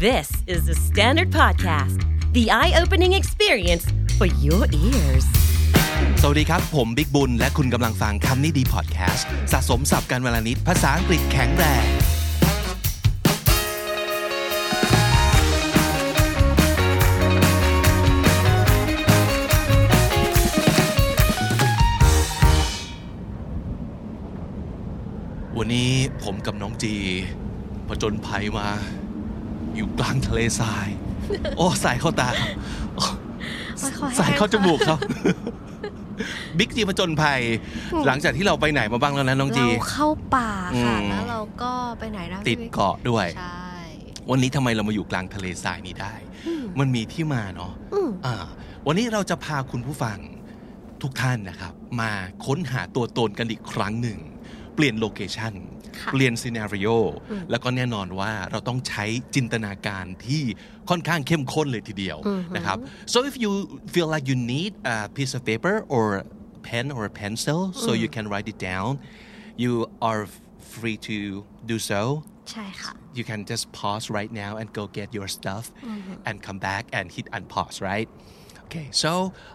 This is the Standard Podcast, the eye-opening experience for your ears. สวัสดีครับผมบิ๊กบุญและคุณกำลังฟังคำนี้ดีพอดแคสต์สะสมศัพท์กันวลนิดภาษาอังกฤษแข็งแรงวันนี้ผมกับน้องจีผจญภัยมาอยู่กลางทะเลทรายโอ้สายเข้าตาสายเข้าจมูกครับบิ๊กจีผจญภัยหลังจากที่เราไปไหนมาบ้างแล้วนะน้องจีเราเข้าป่าค่ะแล้วเราก็ไปไหนนะติดเกาะด้วยใช่วันนี้ทำไมเรามาอยู่กลางทะเลทรายนี้ได้มันมีที่มาเนาะวันนี้เราจะพาคุณผู้ฟังทุกท่านนะครับมาค้นหาตัวตนกันอีกครั้งหนึ่งเปลี่ยนโลเคชั่นเปลี่ยนซีนาริโอแล้วก็แน่นอนว่าเราต้องใช้จินตนาการที่ค่อนข้างเข้มข้นเลยทีเดียวนะครับ so if you feel like you need a piece of paper or pen or a pencil so you can write it down you are free to do so ใช่ค่ะ you can just pause right now and go get your stuff and come back and hit unpause right okay so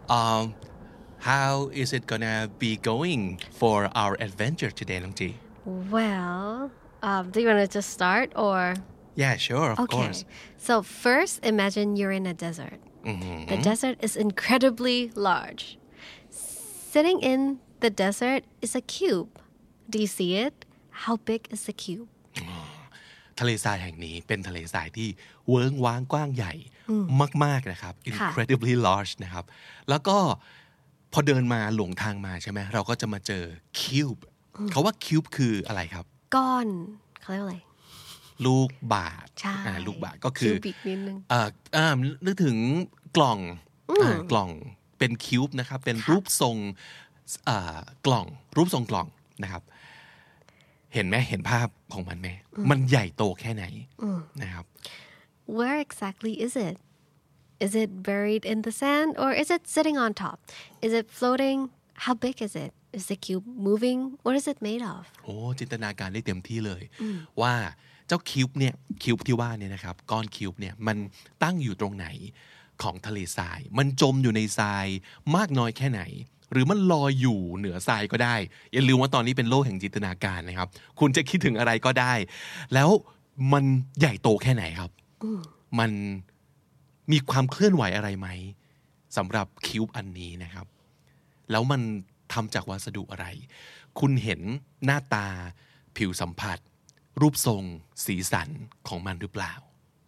how is it gonna be going for our adventure today น้องจี Well do you want to just start or Yeah sure of course So first imagine you're in a desert The desert is incredibly large Sitting in the desert is a cube Do you see it? How big is the cube? ทะเลทรายแห่งนี้เป็นทะเลทรายที่เวิ้งว้างกว้างใหญ่มากๆนะครับ incredibly large นะครับแล้วก็พอเดินมาหลงทางมาใช่ไหมเราก็จะมาเจอ cube เขาว่า cube คืออะไรครับก้อนเขาเรียกว่าอะไรลูกบาศก์ลูกบาศก์ก็คือ cubic นิดนึงนึกถึงกล่องกล่องเป็น cube นะครับเป็นรูปทรงกล่องรูปทรงกล่องนะครับเห็นไหมเห็นภาพของมันไหมมันใหญ่โตแค่ไหนนะครับ Where exactly is it? Is it buried in the sand or is it sitting on top? Is it floating? How big is it? Is the cube moving? What is it made of? โอ้จินตนาการได้เต็มที่เลยว่าเจ้าคิวบ์เนี่ยคิวบ์ที่ว่าเนี่ยนะครับก้อนคิวบ์เนี่ยมันตั้งอยู่ตรงไหนของทะเลทรายมันจมอยู่ในทรายมากน้อยแค่ไหนหรือมันลอยอยู่เหนือทรายก็ได้อย่าลืมว่าตอนนี้เป็นโลกแห่งจินตนาการนะครับคุณจะคิดถึงอะไรก็ได้แล้วมันใหญ่โตแค่ไหนครับมันมีความเคลื่อนไหวอะไรไหมสำหรับคิวบ์อันนี้นะครับแล้วมันทำจากวัสดุอะไรคุณเห็นหน้าตาผิวสัมผัสรูปทรงสีสันของมันหรือเปล่า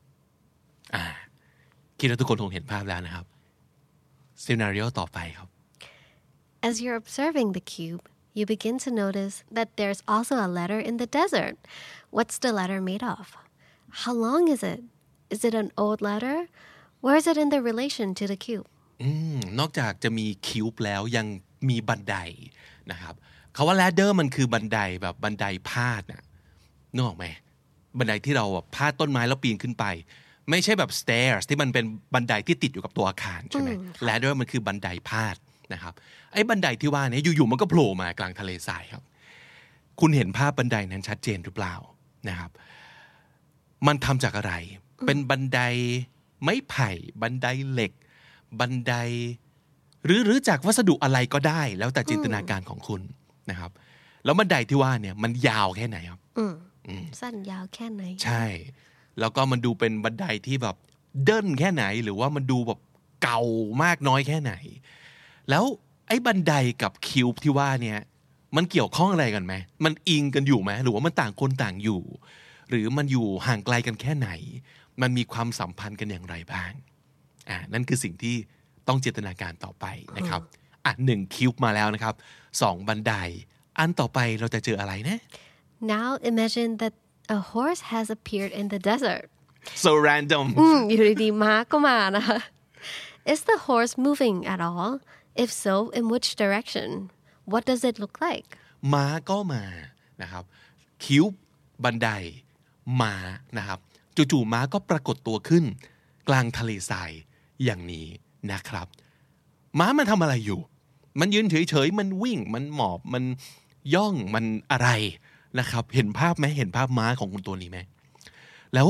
คิดว่าทุกคนคงเห็นภาพแล้วนะครับซีนาริโอต่อไปครับ As you're observing the cube, you begin to notice that there's also a letter in the desert. What's the letter made of? How long is it? Is it an old letter? Where is it in the relation to the cube? นอกจากจะมีคิวบ์แล้วยังมีบันไดนะครับคำว่า ladder มันคือบันไดแบบบันไดพาดน่ะนึกออกไหมบันไดที่เราพาดต้นไม้แล้วปีนขึ้นไปไม่ใช่แบบ stairs ที่มันเป็นบันไดที่ติดอยู่กับตัวอาคารใช่ไหม ladder มันคือบันไดพาดนะครับไอ้บันไดที่ว่านี้อยู่ๆมันก็โผล่มากลางทะเลทรายครับคุณเห็นภาพบันไดนั้นชัดเจนหรือเปล่านะครับมันทำจากอะไรเป็นบันไดไม้ไผ่บันไดเหล็กบันไดหรือจากวัสดุอะไรก็ได้แล้วแต่จินตนาการของคุณนะครับแล้วบันไดที่ว่าเนี่ยมันยาวแค่ไหนครับสั้นยาวแค่ไหนใช่แล้วก็มันดูเป็นบันไดที่แบบเดินแค่ไหนหรือว่ามันดูแบบเก่ามากน้อยแค่ไหนแล้วไอ้บันไดกับคิวบ์ที่ว่าเนี่ยมันเกี่ยวข้องอะไรกันไหมมันอิงกันอยู่ไหมหรือว่ามันต่างคนต่างอยู่หรือมันอยู่ห่างไกลกันแค่ไหนมันมีความสัมพันธ์กันอย่างไรบ้างนั่นคือสิ่งที่ต้องจินตนาการต่อไปนะครับ1คิวบ์มาแล้วนะครับ2บันไดอันต่อไปเราจะเจออะไรนะ Now imagine that a horse has appeared in the desert so random อยู่ดีๆม้าก็มานะคะ Is the horse moving at all? If so, in which direction? What does it look like? ม้าก็มานะครับคิวบ์บันไดม้านะครับจู่ๆม้าก็ปรากฏตัวขึ้นกลางทะเลทรายอย่างนี้นะครับม้ามันทำอะไรอยู่มันยืนเฉยๆมันวิ่งมันหมอบมันย่องมันอะไรนะครับเห็นภาพไหมเห็นภาพม้าของคุณตัวนี้ไหมแล้ว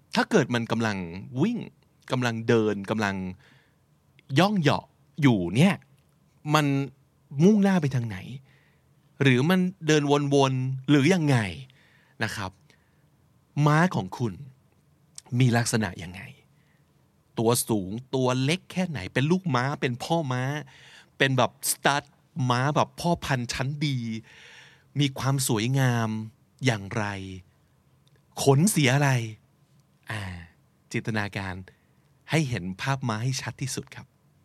ถ้าเกิดมันกำลังวิ่งกำลังเดินกำลังย่องเหาะอยู่เนี่ยมันมุ่งหน้าไปทางไหนหรือมันเดินวนๆหรือยังไงนะครับม้าของคุณมีลักษณะยังไงตัวสูงตัวเล็กแค่ไหนเป็นลูกม้าเป็นพ่อม้าเป็นแบบสตั๊ดม้าแบบพ่อพันธุ์ชั้นดีมีความสวยงามอย่างไรขนสีอะไรจินตนาการให้เห็นภาพม้าให้ชัดที่สุดครับ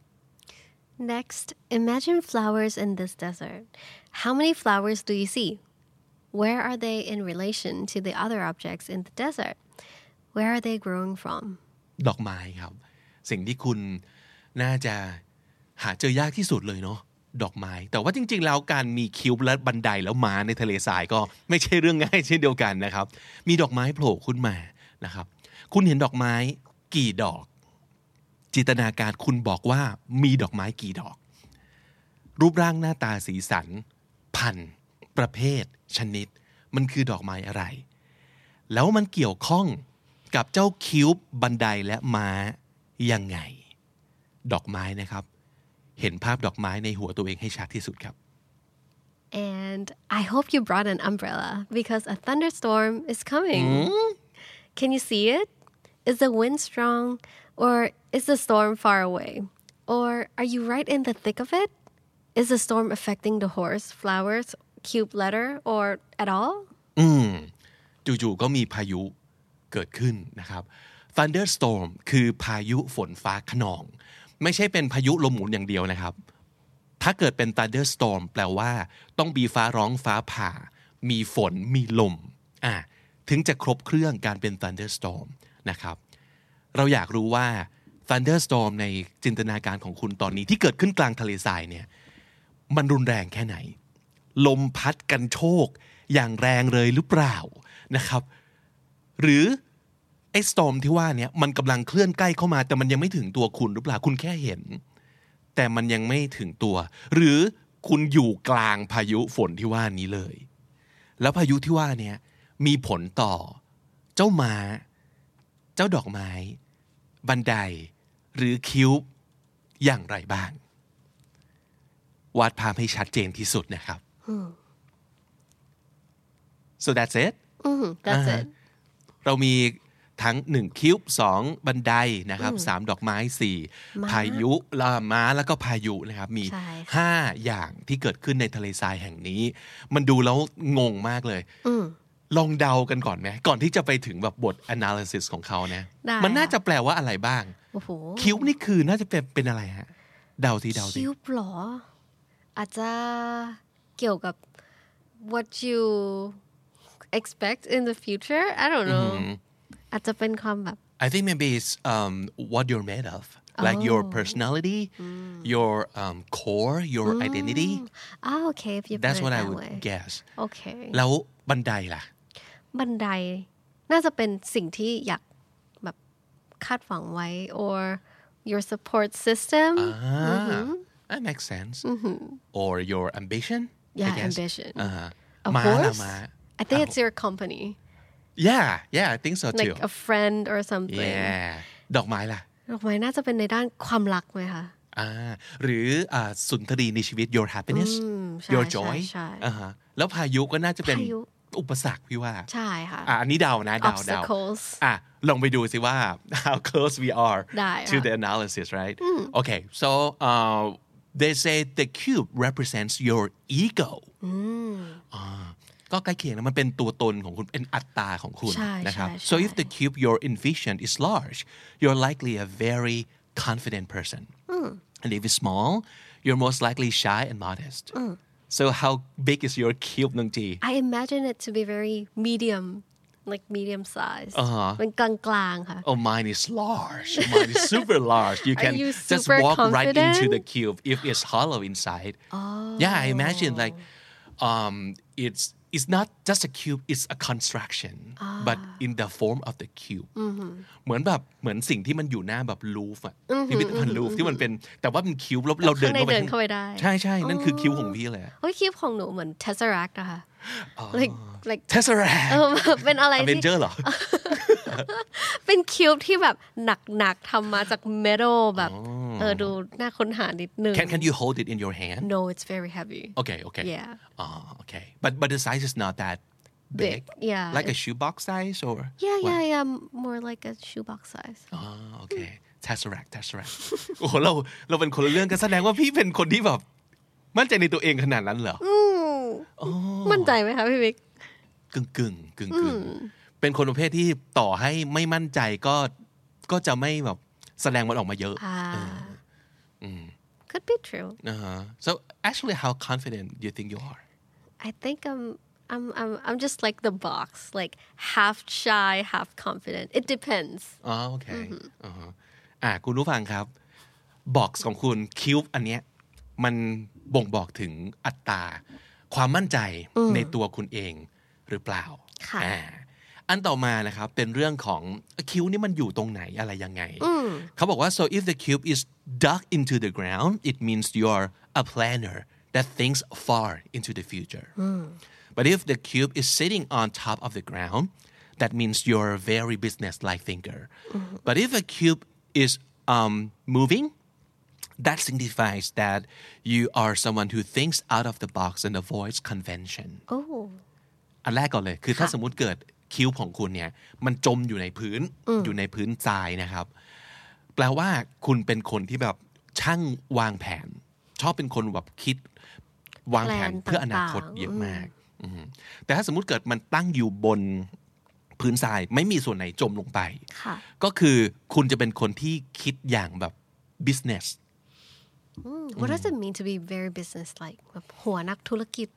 Next, imagine flowers in this desert. How many flowers do you see? Where are they in relation to the other objects in the desert? Where are they growing from? ดอกไม้ครับสิ่งที่คุณน่าจะหาเจอยากที่สุดเลยเนาะดอกไม้แต่ว่าจริงๆแล้วการมีคิวและบันไดแล้วม้าในทะเลทรายก็ไม่ใช่เรื่องง่ายเช่นเดียวกันนะครับมีดอกไม้โผล่ขึ้นมานะครับคุณเห็นดอกไม้กี่ดอกจินตนาการคุณบอกว่ามีดอกไม้กี่ดอกรูปร่างหน้าตาสีสันพันธุ์ประเภทชนิดมันคือดอกไม้อะไรแล้วมันเกี่ยวข้องกับเจ้าคิวบบันไดและม้ายังไงดอกไม้นะครับเห็นภาพดอกไม้ในหัวตัวเองให้ชัดที่สุดครับ And I hope you brought an umbrella because a thunderstorm is coming. Can you see it? Is the wind strong or is the storm far away? Or are you right in the thick of it? Is the storm affecting the horse, flowers, cube letter or at all? จู่ๆก็มีพายุเกิดขึ้นนะครับ thunderstorm คือพายุฝนฟ้าคะนองไม่ใช่เป็นพายุลมหมุนอย่างเดียวนะครับถ้าเกิดเป็น thunderstorm แปลว่าต้องมีฟ้าร้องฟ้าผ่ามีฝนมีลมถึงจะครบเครื่องการเป็น thunderstorm นะครับเราอยากรู้ว่า thunderstorm ในจินตนาการของคุณตอนนี้ที่เกิดขึ้นกลางทะเลทรายเนี่ยมันรุนแรงแค่ไหนลมพัดกันโชกอย่างแรงเลยหรือเปล่านะครับหรือไอ้ storm ที่ว่าเนี่ยมันกำลังเคลื่อนใกล้เข้ามาแต่มันยังไม่ถึงตัวคุณหรือเปล่าคุณแค่เห็นแต่มันยังไม่ถึงตัวหรือคุณอยู่กลางพายุฝนที่ว่านี้เลยแล้วพายุที่ว่าเนี่ยมีผลต่อเจ้าม้าเจ้าดอกไม้บันไดหรือคิ้วอย่างไรบ้างวาดภาพให้ชัดเจนที่สุดนะครับ so that's it That's it เรามีทั้ง1คิ้ว2บันไดนะครับ3ดอกไม้4พายุม้าแล้วก็พายุนะครับมี5อย่างที่เกิดขึ้นในทะเลทรายแห่งนี้มันดูแล้วงงมากเลยลองเดากันก่อนไหมก่อนที่จะไปถึงแบบบท analysis ของเขานะมันน่าจะแปลว่าอะไรบ้างคิ้วนี่คือน่าจะเป็นอะไรฮะเดาสิคิ้วหรออาจจะเกี่ยวกับ what you expect in the future I don't know อาจจะเป็นความแบบ I think maybe it's what you're made of like your personality your core your identity okay if you put that's it what that I would way guess okay แล้วบันไดล่ะบันไดน่าจะเป็นสิ่งที่อยากแบบคาดหวังไว้ or your support system that makes sense or your ambition yeah ambition a ม้า horse ม้า I think it's your company yeah I think so too like a friend or something yeah ดอกไม้ล่ะดอกไม้น่าจะเป็นในด้านความรักไหมคะหรือสุนทรีในชีวิต your happiness your joy แล้วพายุก็น่าจะเป็นอุปสรรคพี่ว่าใช่ค่ะอันนี้เดานะเดา obstacles ลองไปดูสิว่า how close we are to ค่ะ the analysis right okay so they say the cube represents your ego ก็ใกล้เคียงนะมันเป็นตัวตนของคุณเป็นอัตตาของคุณนะครับ so if the cube your envision is large you're likely a very confident person and if it's small you're most likely shy and modest so how big is your cube น้องจี I imagine it to be very medium like medium size เป็นกลางๆค่ะ oh mine is large mine is super large you can just walk right into the cube if it's hollow inside yeah I imagine like it's not just a cube it's a construction but in the form of the cube เหมือนสิ่งที่มันอยู่หน้าแบบลูฟอะพิพิธภัณฑ์ลูฟที่มันเป็นแต่ว่าเป็นคิวแล้วเราเดินเข้าไปได้ใช่นั่นคือคิวของพี่เลยโอ้ยคิวของหนูเหมือน Tesseract อะค่ะlike Tesseract เป็นอะไร Avenger เหรอเป็นคิวบ์ที่แบบหนักๆทำมาจากเมทัลแบบดูน่าค้นหานิดนึง Can you hold it in your hand? No, it's very heavy. Okay. Yeah. Okay. But the size is not that big. Yeah. Like a shoebox size or? Yeah. More like a shoebox size. Okay. Tesseract. โอ้โหเราเป็นคนละเรื่องกันแสดงว่าพี่เป็นคนที่แบบมั่นใจในตัวเองขนาดนั้นเหรอมั่นใจไหมคะพี่บิ๊กกึ่งเป็นคนประเภทที่ต่อให้ไม่มั่นใจก็จะไม่แบบแสดงมันออกมาเยอะ Could be true. So actually how confident do you think you are? I think I'm just like the box, like half shy, half confident. It depends. Okay. คุณผู้ฟังครับบ็อกซ์ของคุณคิวบ์อันเนี้ยมันบ่งบอกถึงอัตราความมั่นใจในตัวคุณเองหรือเปล่าอันต่อมานะครับเป็นเรื่องของคิ้วนี่มันอยู่ตรงไหนอะไรยังไงเขาบอกว่า so if the cube is dug into the ground it means you're a planner that thinks far into the future but if the cube is sitting on top of the ground that means you're a very business-like thinker but if a cube is moving that signifies that you are someone who thinks out of the box and avoids convention อันแรกก่อนเลยคือถ้าสมมุติเกิดคิ้วของคุณเนี่ยมันจมอยู่ในพื้นทรายนะครับแปลว่าคุณเป็นคนที่แบบช่างวางแผนชอบเป็นคนแบบคิดวางแผนเพื่ออนาคตเยอะมากแต่ถ้าสมมุติเกิดมันตั้งอยู่บนพื้นทรายไม่มีส่วนไหนจมลงไปก็คือคุณจะเป็นคนที่คิดอย่างแบบ business What does it mean to be very business-like แบบหัวนักธุรกิจ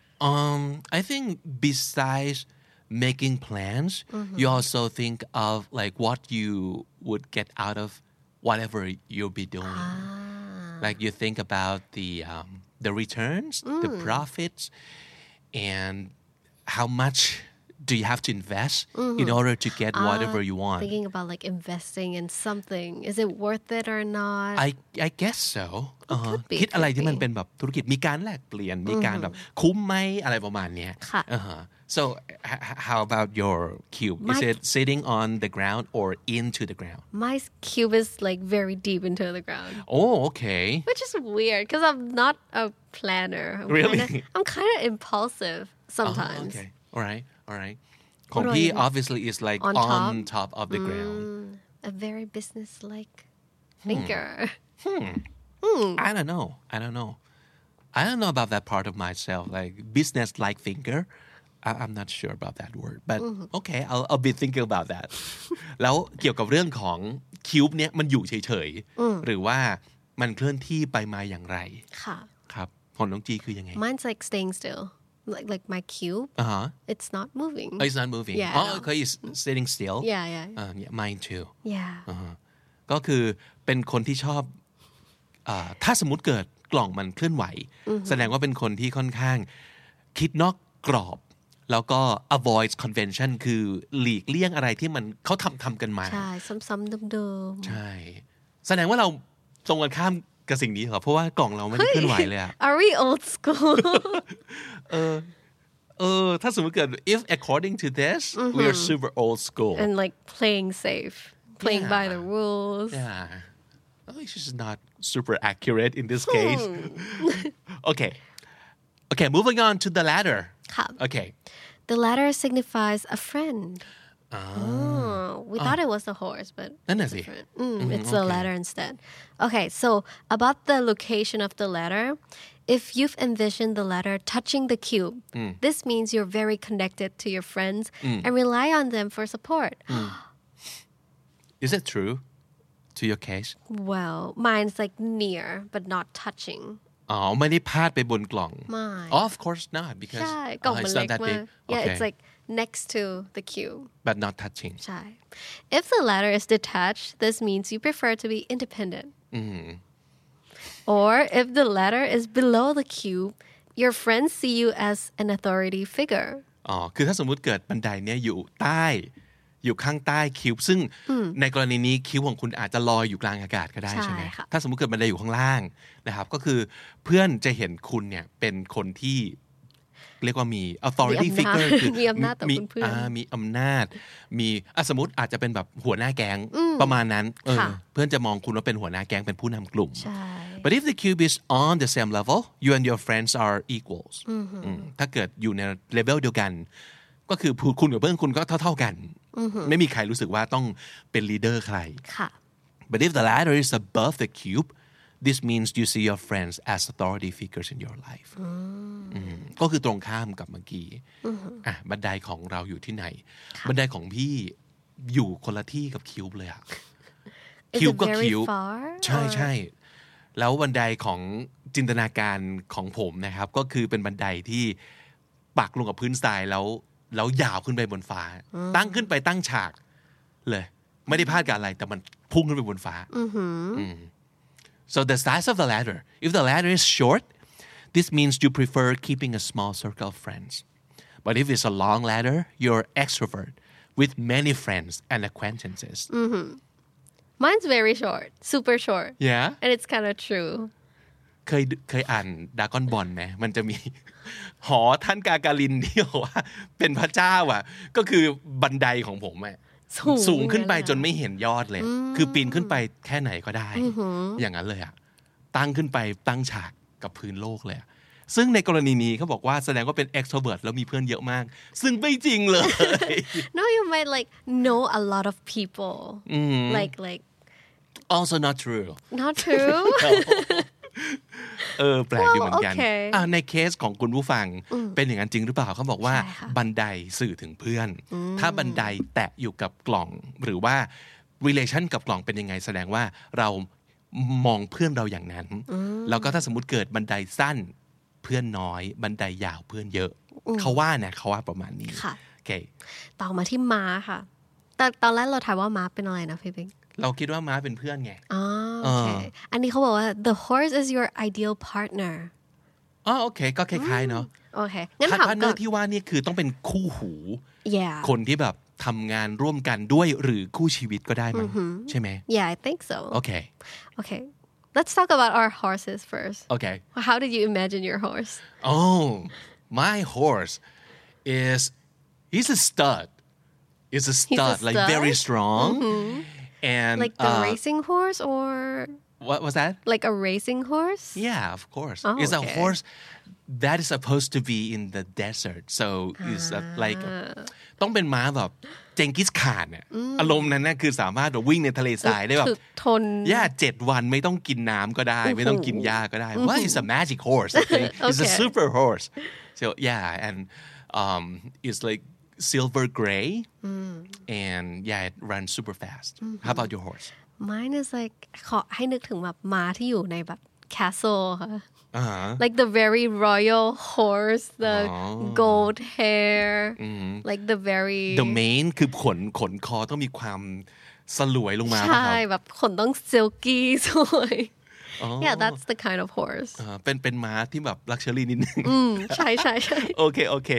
I think besides making plans you also think of like what you would get out of whatever you'll be doing like you think about the returns the profits and how much do you have to invest in order to get whatever you want thinking about like investing in something is it worth it or not I guess so คิดอะไรที่มันเป็นแบบธุรกิจมีการแลกเปลี่ยนมีการแบบคุ้มไหมอะไรประมาณเนี้ยSo how about your cube is it sitting on the ground or into the ground my cube is like very deep into the ground okay which is weird because I'm not a planner I'm kind of impulsive sometimes okay all rightของพี่ obviously is like on top of the ground a very business-like thinker I don't know I don't know about that part of myself like business-like thinker I'm not sure about that word but okay I'll be thinking about that แล้วเกี่ยวกับเรื่องของคิวบ์เนี่ยมันอยู่เฉยๆหรือว่ามันเคลื่อนที่ไปมาอย่างไรครับของน้องจีคือยังไง Mine's like staying still like my cube it's not moving it's not moving okay it's sitting still yeah mine too ก็คือเป็นคนที่ชอบถ้าสมมุติเกิดกล่องมันเคลื่อนไหวแสดงว่าเป็นคนที่ค่อนข้างคิดนอกกรอบแล้วก็ avoid convention คือหลีกเลี่ยงอะไรที่มันเขาทำกันมาใช่ซ้ำๆเดิมๆใช่แสดงว่าเราตรงกันข้ามกับสิ่งนี้เหรอเพราะว่ากล่องเราไม่ได้เคลื่อนไหวเลยอะ Are we old school ถ้าสมมติเกิด if according to this we are super old school and like playing safe playing by the rules it's just not super accurate in this case okay moving on to the ladder okay the ladder signifies a friend we thought it was a horse but it's different it's a ladder instead okay so about the location of the ladder if you've envisioned the ladder touching the cube this means you're very connected to your friends and rely on them for support is it true to your case well mine's like near but not touching ไม่ได้พาดไปบนกล่อง of course not because ใช่กล่องมันเล็กมาก yeah it's like next to the cube but not touching ใช่ if the ladder is detached this means you prefer to be independent or if the ladder is below the cube your friends see you as an authority figure คือถ้าสมมุติเกิดบันไดเนี้ยอยู่ข้างใต้คิวซึ่งในกรณีนี้คิวของคุณอาจจะลอยอยู่กลางอากาศก็ได้ใช่ไหมถ้าสมมุติเกิดบันไดอยู่ข้างล่างนะครับก็คือเพื่อนจะเห็นคุณเนี่ยเป็นคนที่เรียกว่ามี authority figure คือมีอำนาจต่อเพื่อนมีอำนาจมีสมมติอาจจะเป็นแบบหัวหน้าแก๊งประมาณนั้นเพื่อนจะมองคุณว่าเป็นหัวหน้าแก๊งเป็นผู้นำกลุ่ม But if the cube is on the same level you and your friends are equals ถ้าเกิดอยู่ในเลเวลเดียวกันก็คือคุณกับเพื่อนคุณก็เท่าๆกันไม่มีใครรู้สึกว่าต้องเป็นลีดเดอร์ใคร But if the ladder is above the cube this means you see your friends as authority figures in your life ก็คือตรงข้ามกับเมื่อกี้บันไดของเราอยู่ที่ไหนบันไดของพี่อยู่คนละที่กับคิวบเลยอะคิวบก็คิวบใช่แล้วบันไดของจินตนาการของผมนะครับก็คือเป็นบันไดที่ปักลงกับพื้นทรายแล้วยาวขึ้นไปบนฟ้าตั้งขึ้นไปตั้งฉากเลยไม่ได้พลาดกับอะไรแต่มันพุ่งขึ้นไปบนฟ้าSo the size of the ladder. If the ladder is short, this means you prefer keeping a small circle of friends. But if it's a long ladder, you're extrovert with many friends and acquaintances. Mine's very short, super short. Yeah? And it's kind of true. เคยอ่านดราก้อนบอลไหมมันจะมีหอท่านกากาลินที่บอกว่าเป็นพระเจ้าอ่ะก็คือบันไดของผมอ่ะสูงขึ้นไปจนไม่เห็นยอดเลยคือปีนขึ้นไปแค่ไหนก็ได้อย่างนั้นเลยอะตั้งขึ้นไปตั้งฉากกับพื้นโลกเลยซึ่งในกรณีนี้เขาบอกว่าแสดงว่าเป็น extrovert แล้วมีเพื่อนเยอะมากซึ่งไม่จริงเลย No you might like know a lot of people like also not true Not true แปลกดีเหมือนกันในเคสของคุณผู้ฟังเป็นอย่างนั้นจริงหรือเปล่าเขาบอกว่าบันไดสื่อถึงเพื่อนถ้าบันไดแตะอยู่กับกล่องหรือว่า relation กับกล่องเป็นยังไงแสดงว่าเรามองเพื่อนเราอย่างนั้นแล้วก็ถ้าสมมุติเกิดบันไดสั้นเพื่อนน้อยบันไดยาวเพื่อนเยอะเขาว่าประมาณนี้โอเคต่อมาที่ม้าค่ะแต่ตอนแรกเราถามว่าม้าเป็นอะไรนะพี่ปิ๊กเราคิดว่าม้าเป็นเพื่อนไงโอเคอันนี้เขาบอกว่า the horse is your ideal partner โอเคก็คล้ายๆเนาะโอเคงั้นถาม partner ที่ว่านี่คือต้องเป็นคู่หูคนที่แบบทำงานร่วมกันด้วยหรือคู่ชีวิตก็ได้มั้งใช่ไหม Yeah I think so Okay Let's talk about our horses first Okay How did you imagine your horse My horse he's a stud He's a stud like very strong And like the racing horse or what was that? Like a racing horse? Yeah, of course. It's a horse that is supposed to be in the desert. So it's like ต้องเป็นม้าแบบเจงกิสข่านเนี่ยอารมณ์นั้นน่ะคือสามารถวิ่งในทะเลทรายได้แบบทน 7 วันไม่ต้องกินน้ำก็ได้ไม่ต้องกินหญ้าก็ได้ Well, it's a magic horse. I think. It's a super horse. So yeah, and it's like silver gray and it runs super fast. How about your horse? Mine is like ขอให้นึกถึงแบบม้าที่อยู่ในแบบ castle ค่ะ like the very royal horse the gold hair like the very the mane คือขนคอต้องมีความสลวยลงมาใช่แบบขนต้อง silky สวย Yeah that's the kind of horse เป็นม้าที่แบบ luxury นิดนึงใช่ Okay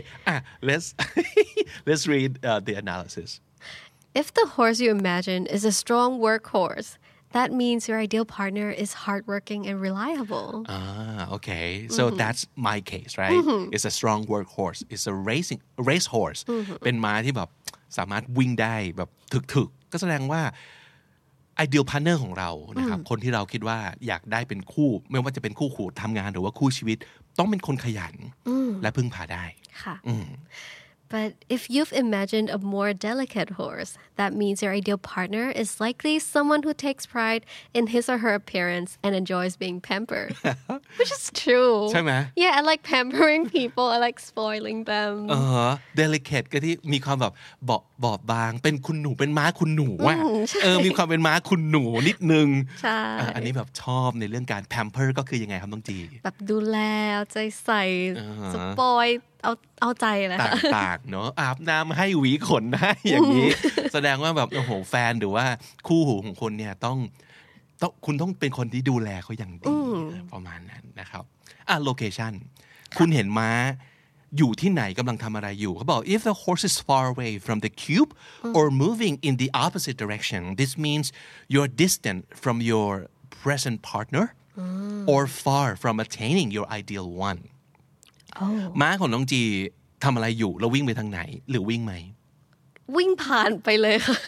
let's read the analysis If the horse you imagine is a strong workhorse that means your ideal partner is hardworking and reliable Okay so that's my case right It's a strong workhorse It's a race horse เป็นม้าที่แบบสามารถวิ่งได้แบบถึกๆก็แสดงว่าideal partner ของเรานะครับคนที่เราคิดว่าอยากได้เป็นคู่ไม่ว่าจะเป็นคู่ทำงานหรือว่าคู่ชีวิตต้องเป็นคนขยันและพึ่งพาได้ค่ะ But if you've imagined a more delicate horse, that means your ideal partner is likely someone who takes pride in his or her appearance and enjoys being pampered. Which is true. ใช่ไหม Yeah, I like pampering people. I like spoiling them. Delicate ก็ที่มีความแบบบอบบางเป็นคุณหนูเป็นม้าคุณหนูอ่ะมีความเป็นม้าคุณหนูนิดนึงใช่อันนี้แบบชอบในเรื่องการ pamper ก็คือยังไงครับน้องจีแบบดูแลเอาใจใส่สปอยเอาใจเลยค่ะต่างๆเนาะอาบน้ำให้หวีขนให้อย่างนี้แสดงว่าแบบโอ้โหแฟนหรือว่าคู่หูของคนเนี่ยต้องคุณต้องเป็นคนที่ดูแลเขาอย่างดีประมาณนั้นนะครับlocation คุณเห็นม้าอยู่ที่ไหนกำลังทำอะไรอยู่เขาบอก if the horse is far away from the cube or moving in the opposite direction this means you're distant from your present partner or far from attaining your ideal one ม้าของน้องจีทำอะไรอยู่แล้ววิ่งไปทางไหนหรือวิ่งไหมวิ่งผ่านไปเลยค่ะ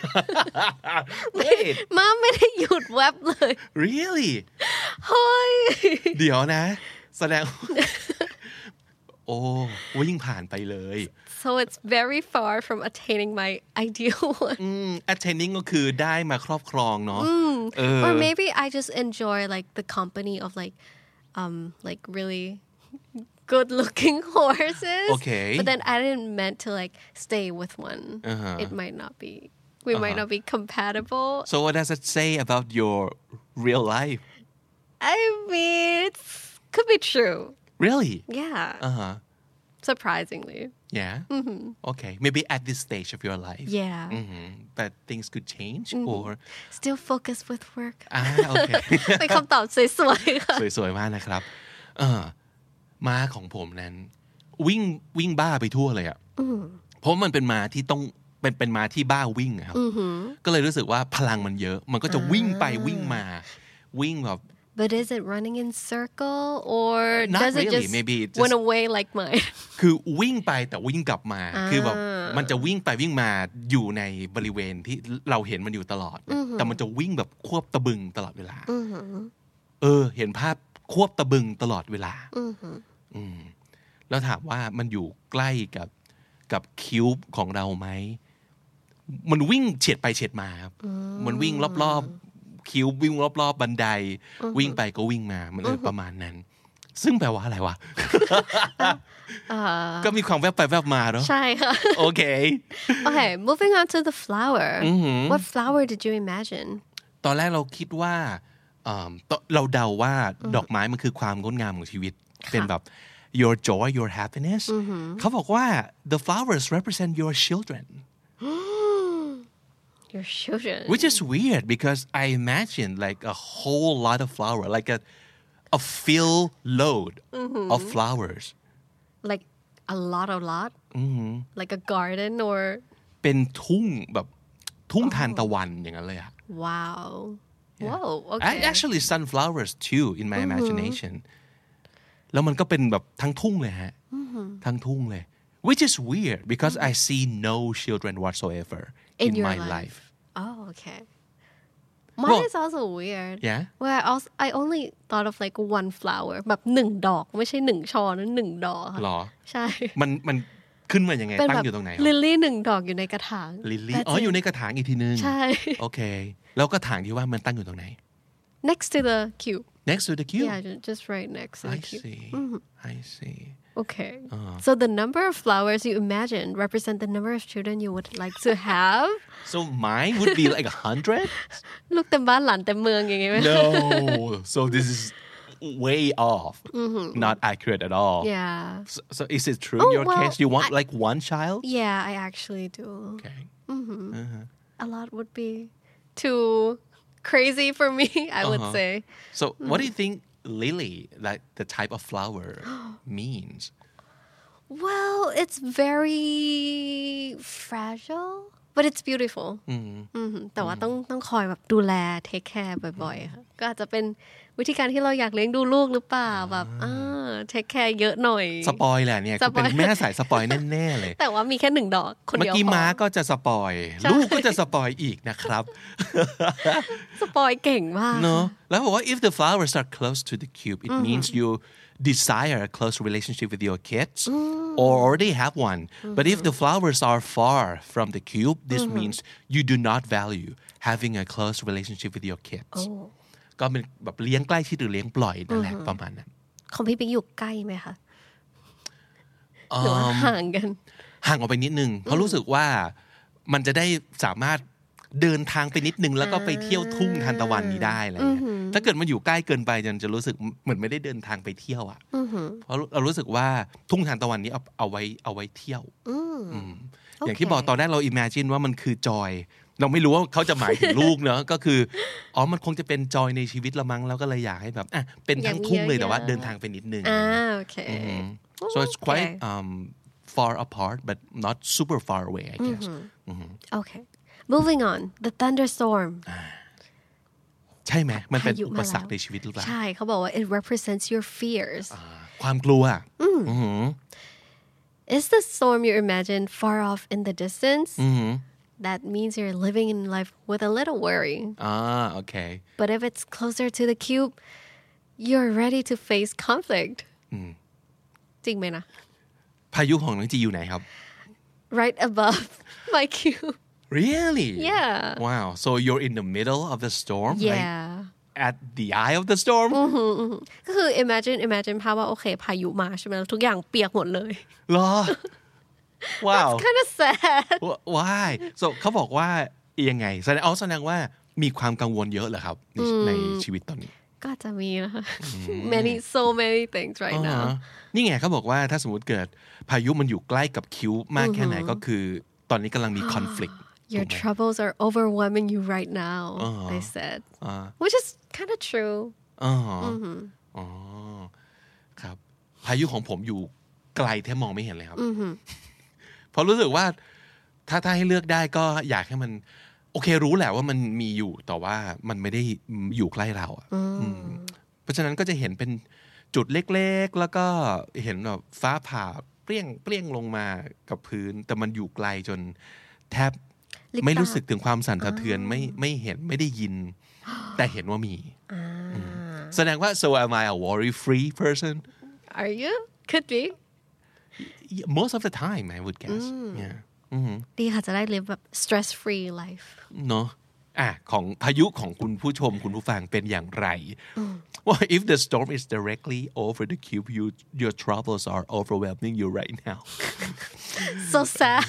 Wait ม้าไม่ได้หยุดแวบเลย really เฮ้ยเดี๋ยวนะแสดง โอ้วิ่งผ่านไปเลย so it's very far from attaining my ideal one attaining ก็คือได้มาครอบครองเนาะ or maybe I just enjoy like the company of like really good looking horses okay but then I didn't meant to like stay with one it might not be we might not be compatible so what does it say about your real life I mean it could be true really yeah surprisingly yeah okay maybe at this stage of your life yeah but things could change or still focus with work okay เป็นคำตอบสวยๆค่ะสวยๆมากนะครับม้าของผมนั้นวิ่งบ้าไปทั่วเลยอ่ะเพราะมันเป็นม้าที่ต้องเป็นม้าที่บ้าวิ่งครับก็เลยรู้สึกว่าพลังมันเยอะมันก็จะวิ่งไปวิ่งมาวิ่งแบบ But is it running in circle or Not does it really. just Maybe it went just- away like mine คือวิ่งไปแต่วิ่งกลับมาคือแบบมันจะวิ่งไปวิ่งมาอยู่ในบริเวณที่เราเห็นมันอยู่ตลอดแต่มันจะวิ่งแบบควบตะบึงตลอดเวลาเห็นภาพควบตะบึงตลอดเวลาแล้วถามว่ามันอยู่ใกล้กับคิวบของเราไหมมันวิ่งเฉียดไปเฉียดมาครับมันวิ่งรอบๆคิววิ่งรอบๆบันไดวิ่งไปก็วิ่งมามันประมาณนั้นซึ่งแปลว่าอะไรวะ ก็มีความแวบไปแวบมาเนาะใช่ค่ะโอเค Okay moving on to the flower what flower did you imagine ตอนแรกเราคิดว่าเราเดาว่าดอกไม้มันคือความงดงามของชีวิตเป็นแบบ your joy your happiness เขาบอกว่า the flowers represent your children your children which is weird because I imagine like a whole lot of flower like a fill load of flowers like a lot like a garden or เป็นทุ่งแบบทุ่งทานตะวันอย่างนั้นเลยอะ wow whoa I okay actually sunflowers too in my imagination แล้วมันก็เป็นแบบทั้งทุ่งเลยฮะทั้งทุ่งเลย which is weird because I see no children whatsoever in your my life oh okay mine is also weird yeah well I only thought of like one flower แบบหนึ่งดอกไม่ใช่หนึ่งช่อนะหนึ่งดอกค่ะหรอใช่มันขึ้นมายังไงเป็นตั้แบงบอยู่ตรงไหนลิลลี่หนึ่งดอกอยู่ในกระถางลิลลี่อ๋ออยู่ในกระถางอีกทีนึงใช่โอเคแล้วกระถางที่ว่ามันตั้งอยู่ตรงไหน next to the cube next to the cube yeah just right next to I the cube see I see okay so the number of flowers you imagine represent the number of children you would like to have so mine would be like 100 ลูกเต็มบ้านหลานเต็มเมืองอย่างงี้ไหม no so this is way off not accurate at all yeah so is it true in your well, case you want like one child yeah I actually do okay a lot would be too crazy for me I would say so what do you think lily like the type of flower means well it's very fragile but it's beautiful แต่ว่าต้องคอยแบบดูแล take care บ่อยๆค่ะก็อาจจะเป็นวิธีการที่เราอยากเลี้ยงดูลูกหรือเปล่าแบบtake care เยอะหน่อยสปอยแหละเนี่ยเป็นแม่สายสปอยแน่ๆเลยแต่ว่ามีแค่หนึ่งดอกคนเมื่อเดียวกี้พอม้าก็จะสปอยลูกก็จะสปอยอีกนะครับสปอยเก่งมากเนอะแล้วบอกว่า if the flowers are close to the cube it means you desire a close relationship with your kids or already have one but if the flowers are far from the cube this means you do not value having a close relationship with your kids ก็เป็นแบบเลี้ยงใกล้ชิดหรือเลี้ยงปล่อยนั่นแหละประมาณนั้นของพี่ปิ๊กอยู่ใกล้ไหมคะหรือว่าห่างกันห่างออกไปนิดนึงเพราะรู้สึกว่ามันจะได้สามารถเดินทางไปนิดนึงแล้วก็ไปเที่ยวทุ่งทานตะวันนี้ได้อะไรเงี้ยถ้าเกิดมันอยู่ใกล้เกินไปจะรู้สึกเหมือนไม่ได้เดินทางไปเที่ยวอ่ะเพราะเรารู้สึกว่าทุ่งทานตะวันนี้เอาไว้เที่ยวอย่างที่บอกตอนแรกเรา imagine ว่ามันคือจอยเราไม่รู้ว่าเขาจะหมายถึงลูกเนอะก็คือมันคงจะเป็นจอยในชีวิตละมั้งแล้วก็เลยอยากให้แบบเป็นทั้งทุ่งเลยแต่ว่าเดินทางไปนิดนึงโอเค so it's quite far apart but not super far away I guess okay moving on the thunderstorm ใช่ไหมมันเป็นพายุอุมาปแล้วสรรคในชีวิตหรือเปล่าใช่เขาบอกว่า it represents your fears ความกลัว Is the storm you imagine far off in the distance that means you're living in life with a little worry โอเค but if it's closer to the cube you're ready to face conflict จริงไหมนะพายุของน้องจีอยู่ไหนครับ right above my cube Really? Yeah. Wow. So you're in the middle of the storm? Yeah. Like at the eye of the storm? ก็คือ imagine ภาพว่าโอเคพายุมาใช่ไหมแล้วทุกอย่างเปียกหมดเลยเหรอ Wow. kind of sad Why? So เขาบอกว่ายังไงแสดงว่ามีความกังวลเยอะเหรอครับในชีวิตตอนนี้ก็จะมีนะคะ so many things right now นี่ไงเขาบอกว่าถ้าสมมติเกิดพายุมันอยู่ใกล้กับคิ้วมากแค่ไหนก็คือตอนนี้กำลังมี conflict Your troubles are overwhelming you right now they said which is kind of true ครับพายุของผมอยู่ไกลแทบมองไม่เห็นเลยครับเพราะรู้สึกว่าถ้าให้เลือกได้ก็อยากให้มันโอเครู้แหละว่ามันมีอยู่แต่ว่ามันไม่ได้อยู่ใกล้เราเพราะฉะนั้นก็จะเห็นเป็นจุดเล็กๆแล้วก็เห็นแบบฟ้าผ่าเปรี้ยงลงมากับพื้นแต่มันอยู่ไกลจนแทบไม่รู้สึกถึงความสั่นสะเทือนไม่เห็นไม่ได้ยินแต่เห็นว่ามีแสดงว่า so am I a worry free person Are you could be most of the time I would guess yeah ดีค่ะจะได้ live แบบ stress free life เนาะของพายุของคุณผู้ชมคุณผู้ฟังเป็นอย่างไร Well if the storm is directly over the cube your troubles are overwhelming you right now so sad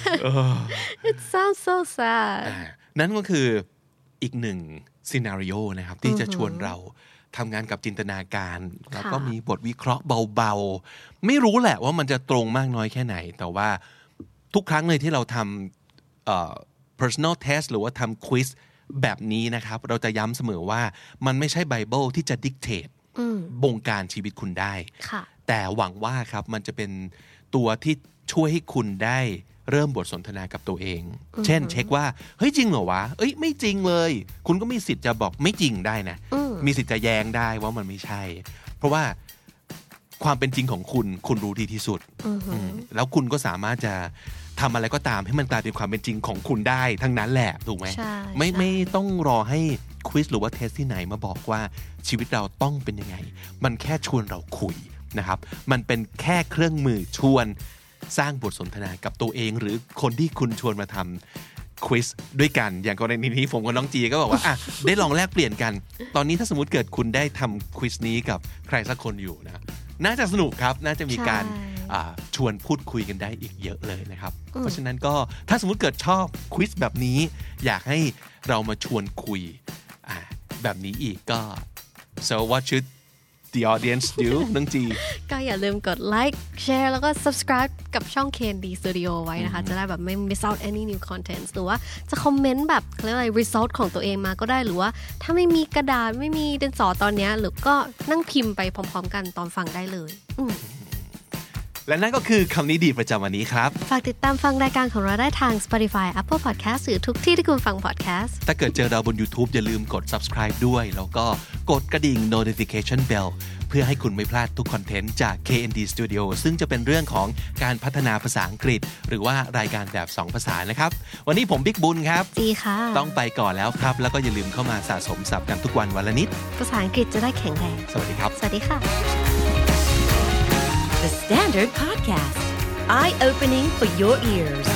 it sounds so sad นั่นก็คืออีกหนึ่งซีนาริโอนะครับที่จะชวนเราทำงานกับจินตนาการแล้วก็มีบทวิเคราะห์เบาๆไม่รู้แหละว่ามันจะตรงมากน้อยแค่ไหนแต่ว่าทุกครั้งเลยที่เราทำpersonal test หรือว่าทำ quiz แบบนี้นะครับเราจะย้ำเสมอว่ามันไม่ใช่ไบเบิลที่จะ dictate บงการชีวิตคุณได้แต่หวังว่าครับมันจะเป็นตัวที่ช่วยให้คุณได้เริ่มบทสนทนากับตัวเองเช่นเช็คว่าเฮ้ยจริงเหรอวะเอ้ยไม่จริงเลยคุณก็มีสิทธิ์จะบอกไม่จริงได้นะมีสิทธิ์จะแย้งได้ว่ามันไม่ใช่เพราะว่าความเป็นจริงของคุณรู้ดีที่สุดแล้วคุณก็สามารถจะทำอะไรก็ตามให้มันกลายเป็นความเป็นจริงของคุณได้ทั้งนั้นแหละถูกไหมไม่ต้องรอให้ควิซหรือว่าเทสที่ไหนมาบอกว่าชีวิตเราต้องเป็นยังไงมันแค่ชวนเราคุยนะครับมันเป็นแค่เครื่องมือชวนสร้างบทสนทนากับตัวเองหรือคนที่คุณชวนมาทำควิซด้วยกันอย่างกรณีนี้ผมกับน้องจีก็บอกว่าได้ลองแลกเปลี่ยนกันตอนนี้ถ้าสมมติเกิดคุณได้ทำควิซนี้กับใครสักคนอยู่นะน่าจะสนุกครับน่าจะมีการชวนพูดคุยกันได้อีกเยอะเลยนะครับเพราะฉะนั้นก็ถ้าสมมติเกิดชอบควิซแบบนี้อยากให้เรามาชวนคุยแบบนี้อีกก็ so what should the audience do น้องจีก็อย่าลืมกดไลค์แชร์แล้วก็ subscribe กับช่อง KND Studio ไว้นะคะจะได้แบบไม่ miss out any new contents หรือว่าจะคอมเมนต์แบบเขาเรียกอะไร result ของตัวเองมาก็ได้หรือว่าถ้าไม่มีกระดาษไม่มีดินสอตอนนี้หรือก็นั่งพิมพ์ไปพร้อมๆกันตอนฟังได้เลยและนั่นก็คือคำนี้ดีประจำวันนี้ครับฝากติดตามฟังรายการของเราได้ทาง Spotify Apple Podcast หรือทุกที่ที่คุณฟัง podcast ถ้าเกิดเจอเราบน YouTube อย่าลืมกด subscribe ด้วยแล้วก็กดกระดิ่ง notification bell เพื่อให้คุณไม่พลาดทุกคอนเทนต์จาก KND Studio ซึ่งจะเป็นเรื่องของการพัฒนาภาษาอังกฤษหรือว่ารายการแบบ2ภาษานะครับวันนี้ผมบิ๊กบุญครับจีค่ะต้องไปก่อนแล้วครับแล้วก็อย่าลืมเข้ามาสะสมศัพท์กันทุกวันวันละนิดภาษาอังกฤษจะได้แข็งแรงสวัสดีครับสวัสดีค่ะ The Standard Podcast Eye-opening for your ears